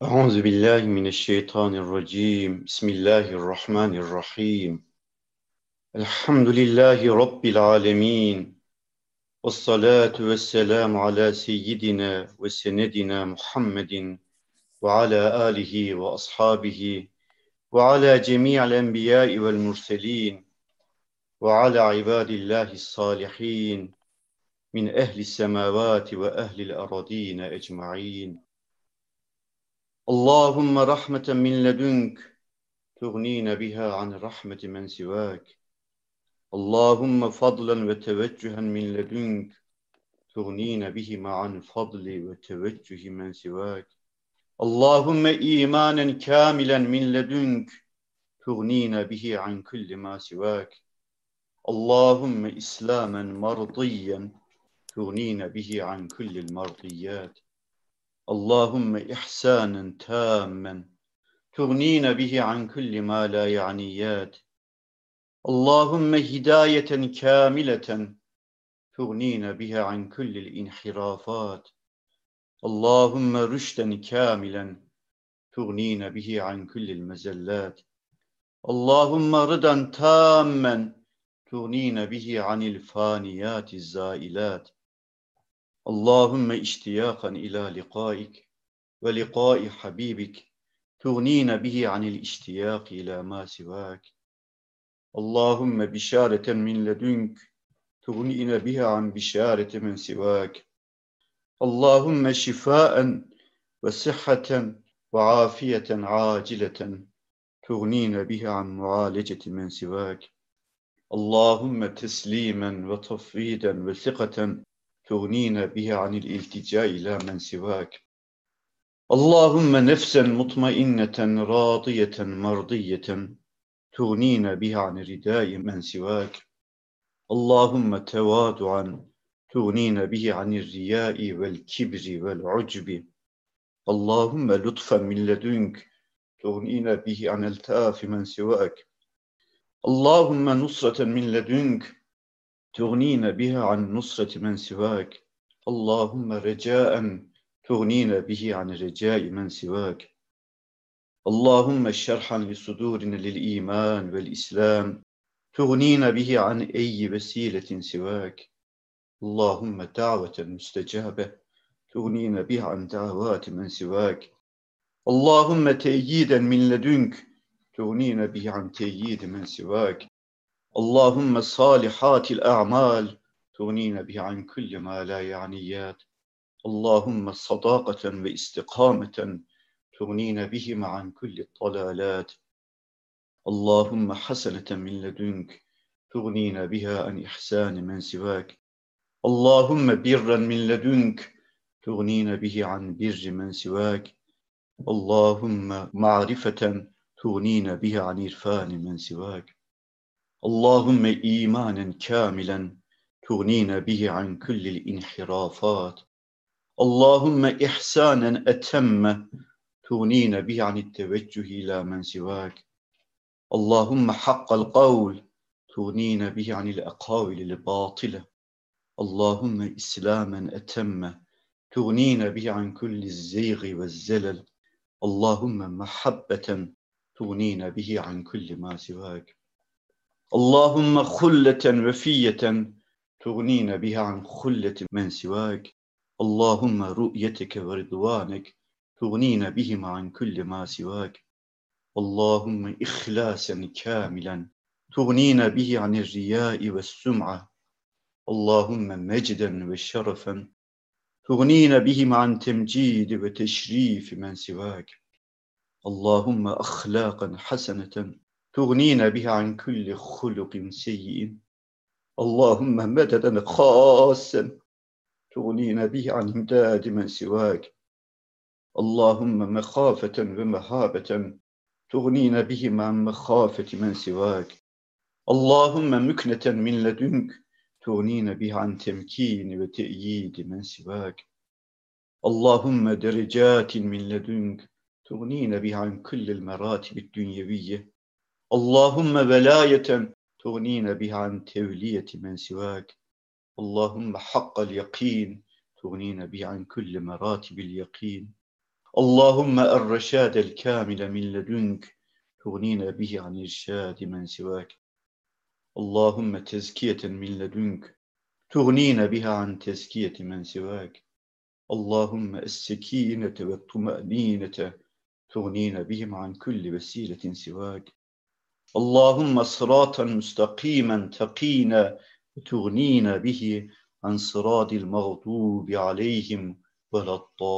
أعوذ بالله من الشيطان الرجيم بسم الله الرحمن الرحيم الحمد لله رب العالمين والصلاة والسلام على سيدنا وسندنا محمد وعلى آله وأصحابه وعلى جميع الأنبياء والمرسلين وعلى عباد الله الصالحين من أهل السماوات وأهل الأراضين أجمعين اللهم رحمة من لدنك تغنينا بها عن رحمة من سواك اللهم فضلا وتوجها من لدنك تغنينا بهما عن فضل وتوجه من سواك اللهم إيمانا كاملا من لدنك تغنينا به عن كل ما سواك اللهم إسلاما مرضيا تغنينا به عن كل المرضيات اللهم إحسانا تاما تغنينا به عن كل ما لا يعنيات اللهم هداية كاملة تغنينا بها عن كل الانحرافات اللهم رشدا كاملا تغنينا به عن كل المزلات اللهم رضا تاما تغنينا به عن الفانيات الزائلات اللهم اشتياقا إلى لقائك ولقاء حبيبك تغنينا به عن الاشتياق إلى ما سواك اللهم بشارة من لدنك تغنينا بها عن بشارة من سواك اللهم شفاء وصحة وعافية عاجلة تغنينا بها عن معالجة من سواك اللهم تسليما وتفويضا وثقة تغنينا بها عن الالتجاء إلى من سواك اللهم نفسا مطمئنة راضية مرضية تغنينا بها عن رداء من سواك اللهم تواضعا تغنينا به عن الرياء والكبر والعجب اللهم لطفا من لدنك تغنينا به عن التاف من سواك اللهم نصرة من لدنك تغنينا بها عن نصرة من سواك اللهم رجاء تغنينا به عن رجاء من سواك اللهم شرحا لصدورنا للإيمان والإسلام تغنينا به عن أي وسيلة سواك اللهم دعوة مستجابة تغنينا بها عن دعوات من سواك اللهم تأييدا من لدنك تغنينا به عن تأييد من سواك اللهم صالحات الأعمال تغنينا به عن كل ما لا يعنيات اللهم صداقة واستقامة تغنينا بهما عن كل الضلالات اللهم حسنة من لدنك تغنينا بها عن إحسان من سواك اللهم برا من لدنك تغنينا به عن بر من سواك اللهم معرفة تغنينا بها عن عرفان من سواك اللهم إيمانا كاملا تغنينا به عن كل الانحرافات اللهم إحسانا أتم تغنينا به عن التوجه إلى من سواك اللهم حق القول تغنينا به عن الأقاويل الباطلة اللهم إسلاما أتم تغنينا به عن كل الزيغ والزلل اللهم محبة تغنينا به عن كل ما سواك اللهم خلة وفية تغنينا بها عن خلة من سواك اللهم رؤيتك ورضوانك تغنينا بهما عن كل ما سواك اللهم إخلاصا كاملا تغنينا به عن الرياء والسمعة اللهم مجدا وشرفا تغنينا بهما عن تمجيد وتشريف من سواك اللهم أخلاقا حسنة تغنينا بها عن كل خلق سيء اللهم مددا خاصا تغنينا به عن امداد من سواك اللهم مخافة ومهابة تغنينا بهما عن مخافة من سواك اللهم مكنة من لدنك تغنينا بها عن تمكين وتأييد من سواك اللهم درجات من لدنك تغنينا بها عن كل المراتب الدنيوية اللهم ولاية تغنينا بها عن تولية من سواك اللهم حق اليقين تغنينا به عن كل مراتب اليقين اللهم الرشاد الكامل من لدنك تغنينا به عن إرشاد من سواك. اللهم تزكية من لدنك تغنينا بها عن تزكية من سواك. اللهم السكينة والطمأنينة تغنينا بهم عن كل وسيلة سواك. اللهم صراطا مستقيما تقينا وتغنينا به عن صراط المغضوب عليهم ولا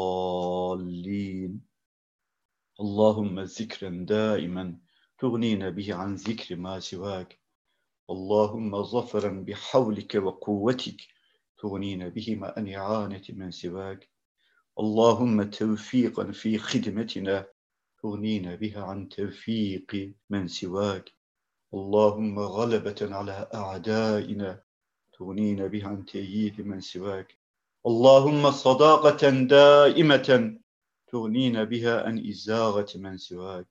الضالين. اللهم ذكرا دائما تغنينا به عن ذكر ما سواك. اللهم ظفرا بحولك وقوتك تغنينا به عن إعانة من سواك. اللهم توفيقا في خدمتنا تغنينا بها عن توفيق من سواك. اللهم غلبة على أعدائنا تغنينا بها عن تأييد من سواك. اللهم صداقة دائمة تغنينا بها عن إزاغة من سواك.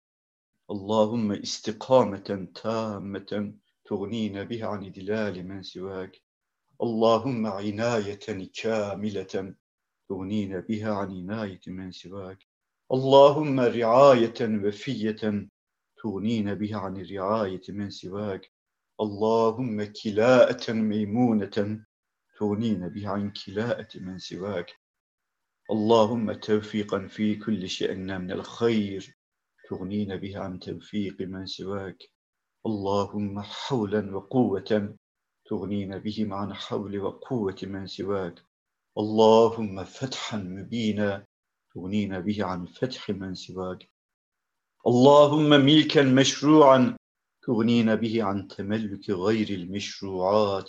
اللهم استقامة تامة تغنينا بها عن إدلال من سواك. اللهم عناية كاملة تغنينا بها عن عناية من سواك. اللهم رعاية وفية تغنينا بها عن الرعاية من سواك. اللهم كلاءة ميمونة تغنينا بها عن كلاءة من سواك. اللهم توفيقا في كل شأن من الخير تغنينا بها عن توفيق من سواك. اللهم حولا وقوة تغنينا بهم عن حول وقوة من سواك. اللهم فتحا مبينا تغنينا به عن فتح من سواك. اللهم ملكا مشروعا تغنينا به عن تملك غير المشروعات.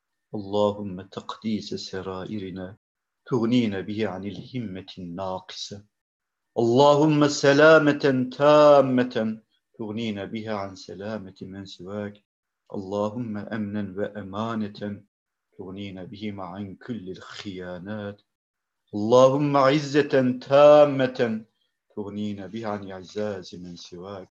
اللهم تقديس سرائرنا تغنينا به عن الهمة الناقصة. اللهم سلامة تامة تغنينا بها عن سلامة من سواك. اللهم أمنا وأمانة تغنينا بهما عن كل الخيانات. اللهم عزة تامة تغنينا بها عن إعزاز من سواك.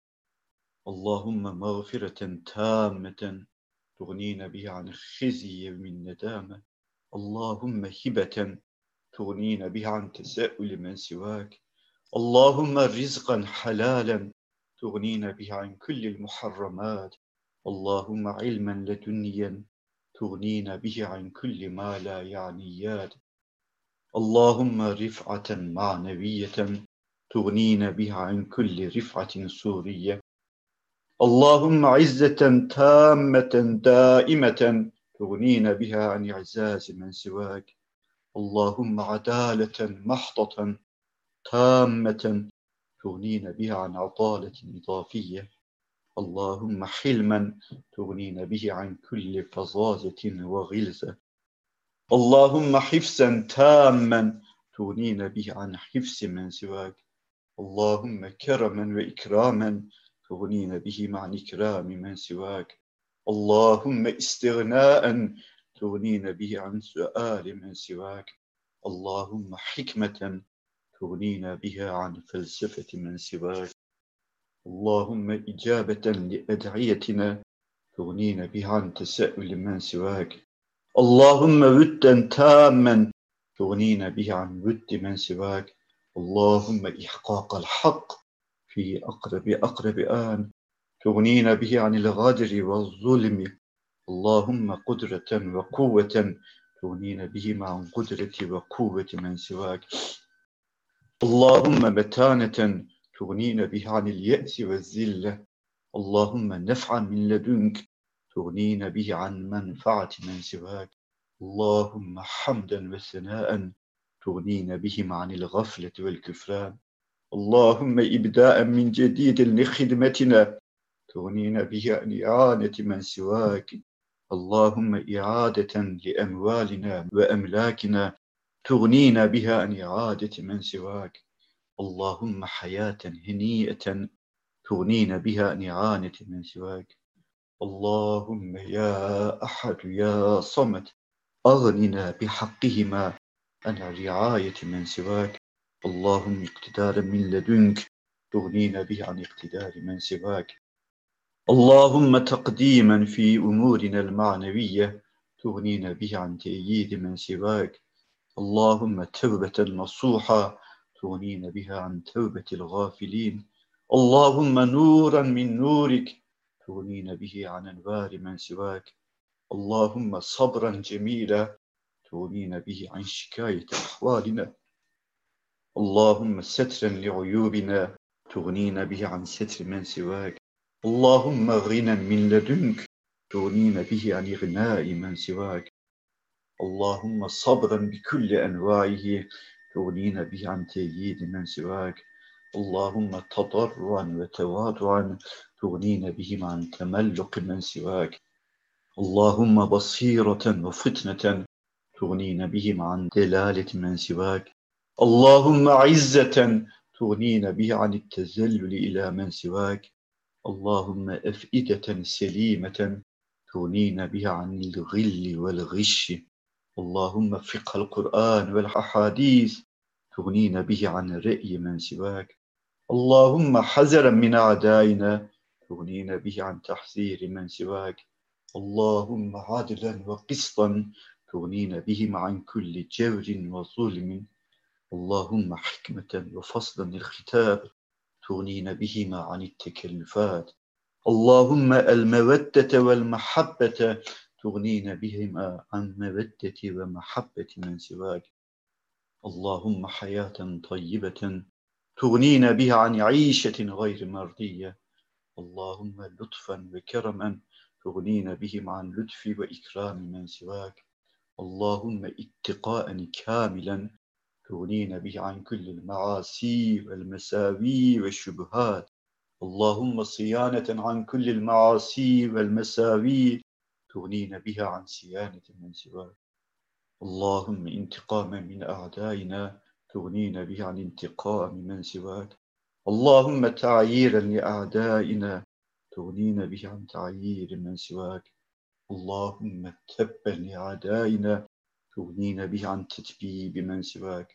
اللهم مغفرة تامة تغنينا بها عن خزي من ندامة. اللهم هبة تغنينا بها عن تساؤل من سواك. اللهم رزقا حلالا تغنينا به عن كل المحرمات. اللهم علما لدنيا تغنينا به عن كل ما لا يعنيات. اللهم رفعة معنوية تغنينا بها عن كل رفعة سورية. اللهم عزة تامة دائمة تغنينا بها عن إعزاز من سواك. اللهم عدالة محضة تامة تغنينا بها عن عطالة إضافية. اللهم حلما تغنينا به عن كل فظاظة وغلظة. اللهم حفظا تاما تغنينا به عن حفظ من سواك. اللهم كرما وإكراما تغنينا به عن إكرام من سواك. اللهم استغناء تغنينا به عن سؤال من سواك. اللهم حكمة تغنينا بها عن فلسفة من سواك. اللهم إجابة لأدعيتنا تغنينا بها عن تساؤل من سواك. اللهم ودا تاما تغنينا به عن ود من سواك. اللهم إحقاق الحق في أقرب آن تغنينا به عن الغدر والظلم. اللهم قدرة وقوة تغنينا بهما عن قدرة وقوة من سواك. اللهم متانة تغنينا بها عن اليأس والذلة. اللهم نفعا من لدنك تغنينا به عن منفعة من سواك. اللهم حمدا وثناء تغنينا بهم عن الغفلة والكفران. اللهم إبداء من جديد لخدمتنا تغنينا به عن إعانة من سواك. اللهم إعادة لأموالنا وأملاكنا تغنينا بها عن إعادة من سواك. اللهم حياة هنيئة تغنينا بها عن إعانة من سواك. اللهم يا أحد يا صمد أغننا بحقهما عن الرعاية من سواك. اللهم اقتدارا من لدنك تغنينا به عن اقتدار من سواك. اللهم تقديما في أمورنا المعنوية تغنينا به عن تأييد من سواك. اللهم توبة نصوحة تغنين بها عن توبة الغافلين. اللهم نورا من نورك تغنين به عن أنوار من سواك. اللهم صبرا جميلا تغنين به عن شكاية أحوالنا. اللهم سترا لعيوبنا تغنين به عن ستر من سواك. اللهم غنى من لدنك تغنين به عن إغناء من سواك. اللهم صبرا بكل أنواعه تغنين به عن تأييد من سواك. اللهم تضرعا وتواضعا تغنين بهم عن تملق من سواك. اللهم بصيرة وفتنة تغنين بهم عن دلالة من سواك. اللهم عزة تغنين به عن التذلل إلى من سواك. اللهم أفئدة سليمة تغنين بها عن الغل والغش. اللهم فقه القرآن والأحاديث تغنين به عن رأي من سواك. اللهم حذرا من أعدائنا تغنين به عن تحذير من سواك. اللهم عدلا وقسطا تغنين بهم عن كل جور وظلم. اللهم حكمة وفصلا الختاب تغنين بهما عن التكلفات. اللهم المودة والمحبة تغنين بهما عن مودة ومحبة من سواك. اللهم حياة طيبة تغنين بها عن عيشة غير مرضية. اللهم لطفا وكرما تغنين بهم عن لطف وإكرام من سواك. اللهم اتقاء كاملا تغنين به عن كل المعاصي والمساوي والشبهات. اللهم صيانة عن كل المعاصي والمساوي تغنين بها عن صيانة من سواك. اللهم انتقاما من أعدائنا تغنين به عن انتقام من سواك. اللهم تعييرا لأعدائنا تغنين به عن تعيير من سواك. اللهم تبا لأعدائنا تغنين به عن تتبيب من سواك.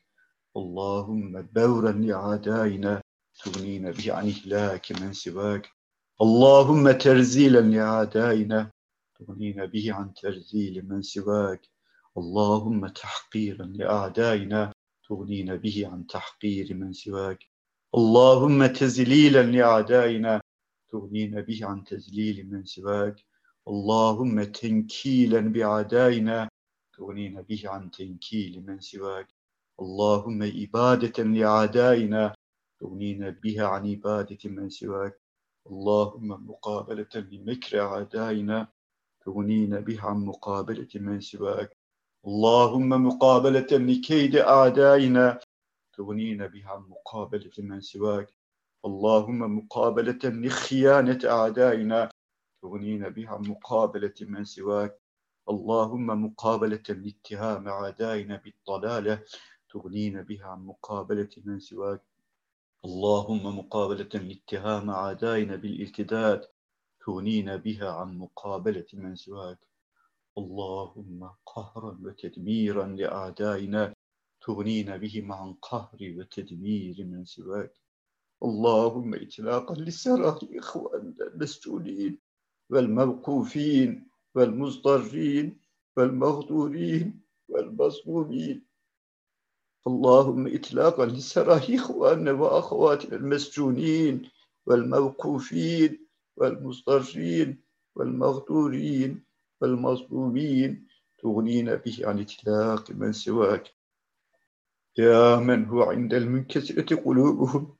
اللهم بورا لأعدائنا تغنين به عن إهلاك من سواك. اللهم ترزيلا لأعدائنا تغنين به عن ترزيل من سواك. اللهم تحقيرا لأعدائنا تغنين به عن تحقير من سواك. اللهم تذليلا لأعدائنا تغنين به عن تذليل من سواك. اللهم تنكيلا بأعدائنا تغنين به عن تنكيل من سواك. اللهم إبادة لأعدائنا تغنين بها عن إبادة من سواك. اللهم مقابلة لمكر أعدائنا تغنين بها عن مقابلة من سواك. اللهم مقابلة لكيد أعدائنا تغنين بها عن مقابلة من سواك. اللهم مقابلة لخيانة أعدائنا تغنين بها عن مقابلة من سواك. اللهم مقابلة لاتهام أعدائنا بالضلالة تغنين بها عن مقابلة من سواك. اللهم مقابلة لاتهام أعدائنا بالارتداد تغنين بها عن مقابلة من سواك. اللهم قهرا وتدميرا لأعدائنا تغنين بهم عن قهر وتدمير من سواك. اللهم إطلاقا لسراح إخواننا المسجونين والموقوفين والمضطرين والمغدورين والمظلومين. اللهم إطلاقا لسراح إخواننا وأخواتنا المسجونين والموقوفين والمضطرين والمغدورين والمظلومين تغنين به عن إطلاق من سواك. يا من هو عند المنكسرة قلوبهم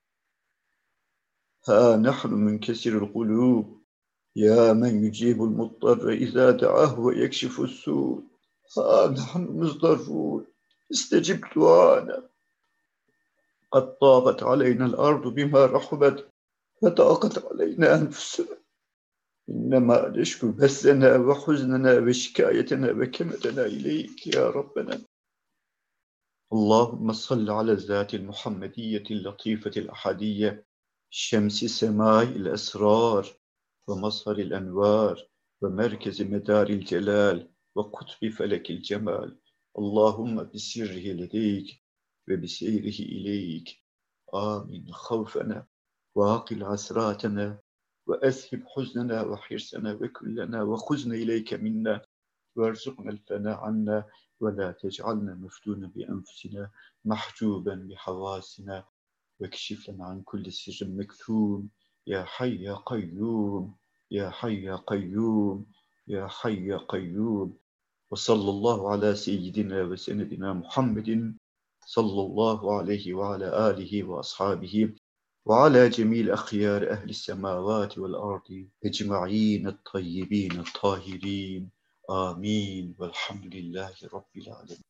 ها نحن منكسر القلوب. يا من يجيب المضطر إذا دعاه ويكشف السوء ها نحن مضطرون استجب دعانا. قد ضاقت علينا الأرض بما رحبت وضاقت علينا أنفسنا. إنما نشكو بثنا وحزننا وشكايتنا وكمتنا إليك يا ربنا. اللهم صل على الذات المحمدية اللطيفة الأحدية شمس سماء الأسرار ومصهر الأنوار ومركز مدار الجلال وقطب فلك الجمال. اللهم بسره لديك وبسيره إليك آمين خوفنا وعقل عسراتنا وأذهب حزننا وحرصنا وكلنا وخزنا إليك منا وارزقنا الفناء عنا ولا تجعلنا مفتونا بأنفسنا محجوبا بحواسنا واكشف لنا عن كل سر مكتوم يا حي يا قيوم يا حي يا قيوم يا حي يا قيوم وصلى الله على سيدنا وسندنا محمد صلى الله عليه وعلى آله وأصحابه وعلى جميع الأخيار أهل السماوات والأرض أجمعين الطيبين الطاهرين آمين والحمد لله رب العالمين.